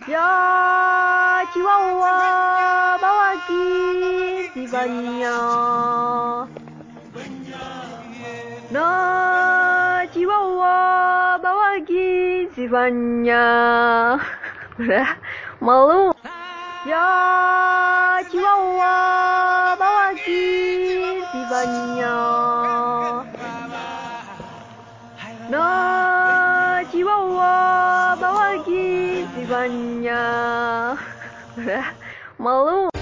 Ya, Chihuahua, bawa gizi banyak. Nah, Chihuahua, bawa gizi banyak. Udah, malu. Ya, Chihuahua, bawa gizi banyak. Nah, Chihuahua, bawa gizi banyak. Udah, malu.